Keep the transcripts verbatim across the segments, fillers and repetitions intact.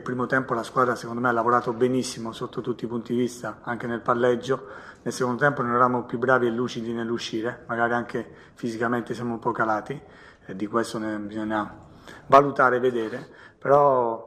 primo tempo la squadra secondo me ha lavorato benissimo sotto tutti i punti di vista, anche nel palleggio. Nel secondo tempo non eravamo più bravi e lucidi nell'uscire, magari anche fisicamente siamo un po' calati, e di questo ne bisogna valutare e vedere, però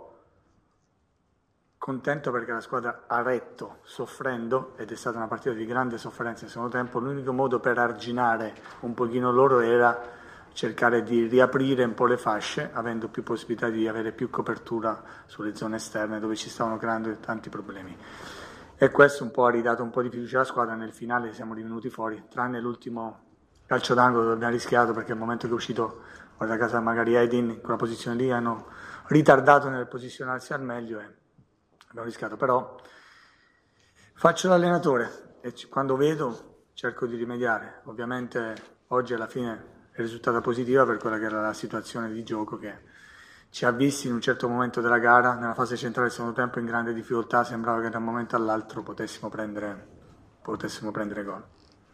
contento perché la squadra ha retto soffrendo, ed è stata una partita di grande sofferenza nel secondo tempo. L'unico modo per arginare un pochino loro era cercare di riaprire un po' le fasce, avendo più possibilità di avere più copertura sulle zone esterne dove ci stavano creando tanti problemi. E questo un po' ha ridato un po' di fiducia alla squadra. Nel finale siamo rivenuti fuori, tranne l'ultimo calcio d'angolo dove abbiamo rischiato, perché al momento che è uscito, guarda casa, magari Edin in quella posizione lì, hanno ritardato nel posizionarsi al meglio e abbiamo rischiato. Però faccio l'allenatore e quando vedo cerco di rimediare. Ovviamente oggi alla fine è risultata positiva per quella che era la situazione di gioco che ci ha visti in un certo momento della gara, nella fase centrale del secondo tempo, in grande difficoltà. Sembrava che da un momento all'altro potessimo prendere, potessimo prendere gol.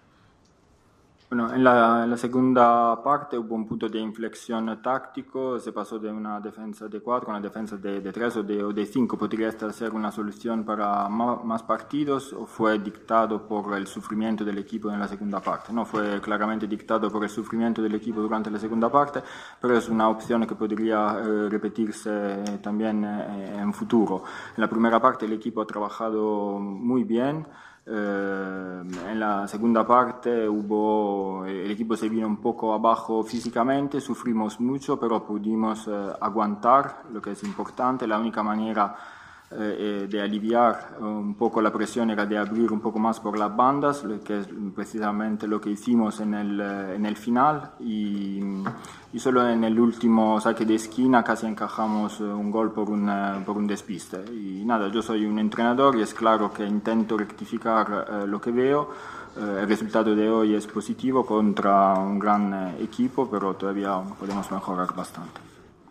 Bueno, en la, en la segunda parte hubo un punto de inflexión táctico, se pasó de una defensa de cuatro a una defensa de, de tres o de, o de cinco. ¿Podría esta ser una solución para ma, más partidos o fue dictado por el sufrimiento del equipo en la segunda parte? No fue claramente dictado por el sufrimiento del equipo durante la segunda parte, pero es una opción que podría eh, repetirse también eh, en futuro. En la primera parte el equipo ha trabajado muy bien. Eh, en la segunda parte hubo, el equipo se vino un poco abajo físicamente, sufrimos mucho, pero pudimos eh, aguantar, lo que es importante. La única manera eh, de aliviar un poco la presión era de abrir un poco más por las bandas, lo que es precisamente lo que hicimos en el, en el final, y, y solo en el último saque de esquina casi encajamos un gol por un, por un despiste. Y nada, yo soy un entrenador y es claro que intento rectificar eh, lo que veo. Eh, el resultado de hoy es positivo contra un gran eh, equipo, pero todavía podemos mejorar bastante.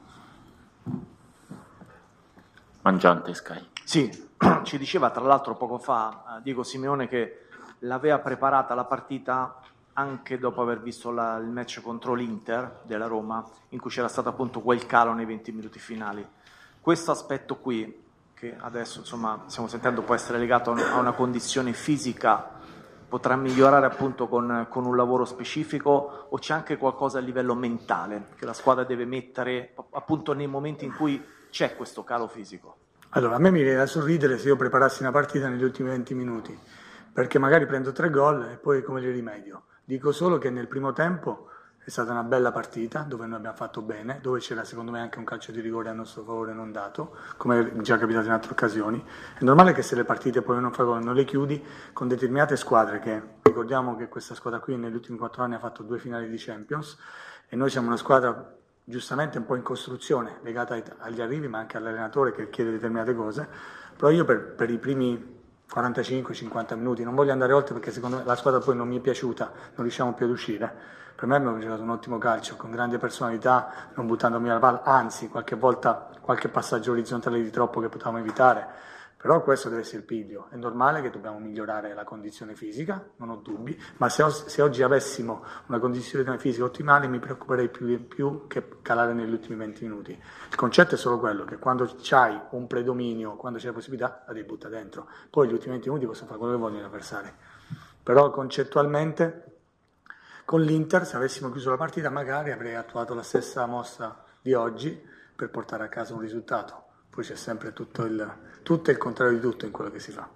Mangiante Sky. Sì, ci diceva tra l'altro poco fa eh, Diego Simeone che l'aveva preparata la partita anche dopo aver visto la, il match contro l'Inter della Roma, in cui c'era stato appunto quel calo nei venti minuti finali. Questo aspetto qui, che adesso insomma stiamo sentendo può essere legato a una condizione fisica, potrà migliorare appunto con, con un lavoro specifico, o c'è anche qualcosa a livello mentale che la squadra deve mettere appunto nei momenti in cui c'è questo calo fisico? Allora, a me mi viene da sorridere se io preparassi una partita negli ultimi venti minuti, perché magari prendo tre gol e poi come li rimedio. Dico solo che nel primo tempo è stata una bella partita, dove noi abbiamo fatto bene, dove c'era secondo me anche un calcio di rigore a nostro favore non dato, come è già capitato in altre occasioni. È normale che se le partite poi non fai gol, non le chiudi, con determinate squadre, che ricordiamo che questa squadra qui negli ultimi quattro anni ha fatto due finali di Champions, e noi siamo una squadra giustamente un po' in costruzione, legata ai, agli arrivi, ma anche all'allenatore che chiede determinate cose. Però io per, per i primi quarantacinque cinquanta minuti non voglio andare oltre, perché secondo me la squadra poi non mi è piaciuta, non riusciamo più ad uscire. Per me abbiamo giocato un ottimo calcio, con grande personalità, non buttando via la palla, anzi qualche volta qualche passaggio orizzontale di troppo che potevamo evitare. Però questo deve essere il piglio. È normale che dobbiamo migliorare la condizione fisica, non ho dubbi, ma se, se oggi avessimo una condizione fisica ottimale mi preoccuperei più, più che calare negli ultimi venti minuti. Il concetto è solo quello, che quando c'hai un predominio, quando c'è la possibilità, la devi buttare dentro. Poi gli ultimi venti minuti possono fare quello che vogliono gli avversari. Però concettualmente con l'Inter, se avessimo chiuso la partita, magari avrei attuato la stessa mossa di oggi per portare a casa un risultato. Poi c'è sempre tutto il, tutto il contrario di tutto in quello che si fa.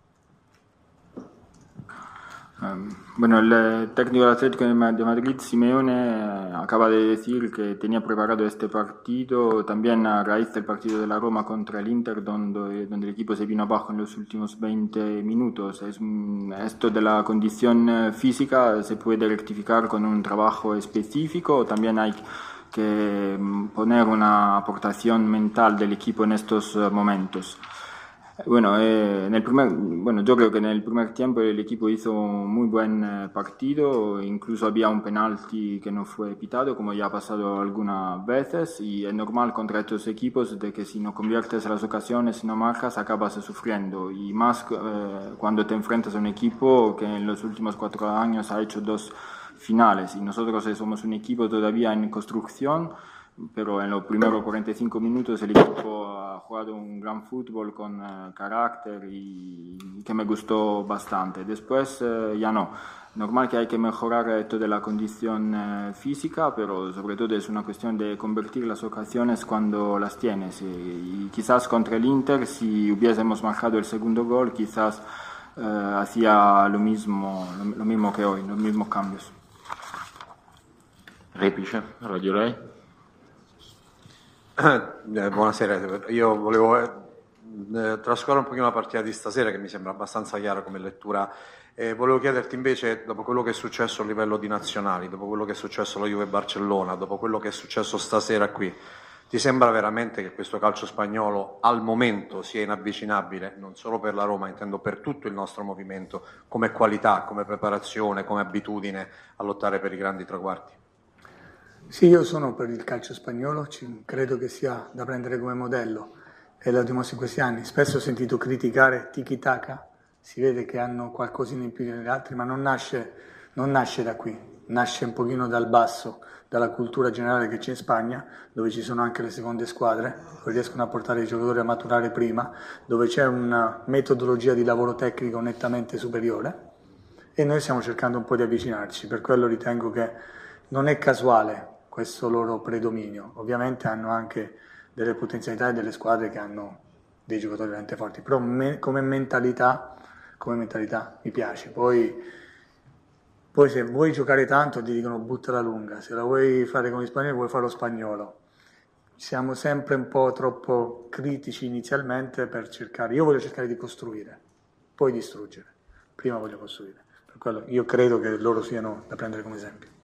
Um, bueno, el técnico del Atlético de Madrid, Simeone, acaba de decir que tenía preparado este partido también a raíz del partido de la Roma contra el Inter, donde, donde el equipo se vino abajo en los últimos veinte minutos. Es, esto de la condición física se puede rectificar con un trabajo específico, también hay que poner una aportación mental del equipo en estos momentos. Bueno, eh, en el primer, bueno, yo creo que en el primer tiempo el equipo hizo un muy buen eh, partido, incluso había un penalti que no fue pitado, como ya ha pasado algunas veces, y es normal contra estos equipos de que si no conviertes las ocasiones, si no marcas, acabas sufriendo, y más eh, cuando te enfrentas a un equipo que en los últimos cuatro años ha hecho dos finales, y nosotros somos un equipo todavía en construcción, pero en los primeros cuarenta y cinco minutos el equipo ha jugado un gran fútbol con eh, carácter y que me gustó bastante. Después eh, ya no. Normal que hay que mejorar eh, toda la condición eh, física, pero sobre todo es una cuestión de convertir las ocasiones cuando las tienes. Y, y quizás contra el Inter, si hubiésemos marcado el segundo gol, quizás eh, hacía lo mismo, lo, lo mismo que hoy, los mismos cambios. Repice, Radio Rai. Eh, buonasera, io volevo eh, trascorrere un pochino la partita di stasera che mi sembra abbastanza chiara come lettura. Eh, volevo chiederti invece, dopo quello che è successo a livello di nazionali, dopo quello che è successo alla Juve Barcellona, dopo quello che è successo stasera qui, ti sembra veramente che questo calcio spagnolo al momento sia inavvicinabile, non solo per la Roma, intendo per tutto il nostro movimento, come qualità, come preparazione, come abitudine a lottare per i grandi traguardi? Sì, io sono per il calcio spagnolo, ci, credo che sia da prendere come modello e lo dimostro in questi anni. Spesso ho sentito criticare tiki-taka, si vede che hanno qualcosina in più degli altri, ma non nasce, non nasce da qui, nasce un pochino dal basso, dalla cultura generale che c'è in Spagna, dove ci sono anche le seconde squadre, dove riescono a portare i giocatori a maturare prima, dove c'è una metodologia di lavoro tecnico nettamente superiore e noi stiamo cercando un po' di avvicinarci, per quello ritengo che non è casuale questo loro predominio. Ovviamente hanno anche delle potenzialità e delle squadre che hanno dei giocatori veramente forti, però me, come mentalità, come mentalità mi piace. Poi, poi se vuoi giocare tanto ti dicono buttala lunga, se la vuoi fare come gli spagnoli vuoi fare lo spagnolo. Siamo sempre un po' troppo critici inizialmente per cercare, io voglio cercare di costruire, poi distruggere, prima voglio costruire. Per quello io credo che loro siano da prendere come esempio.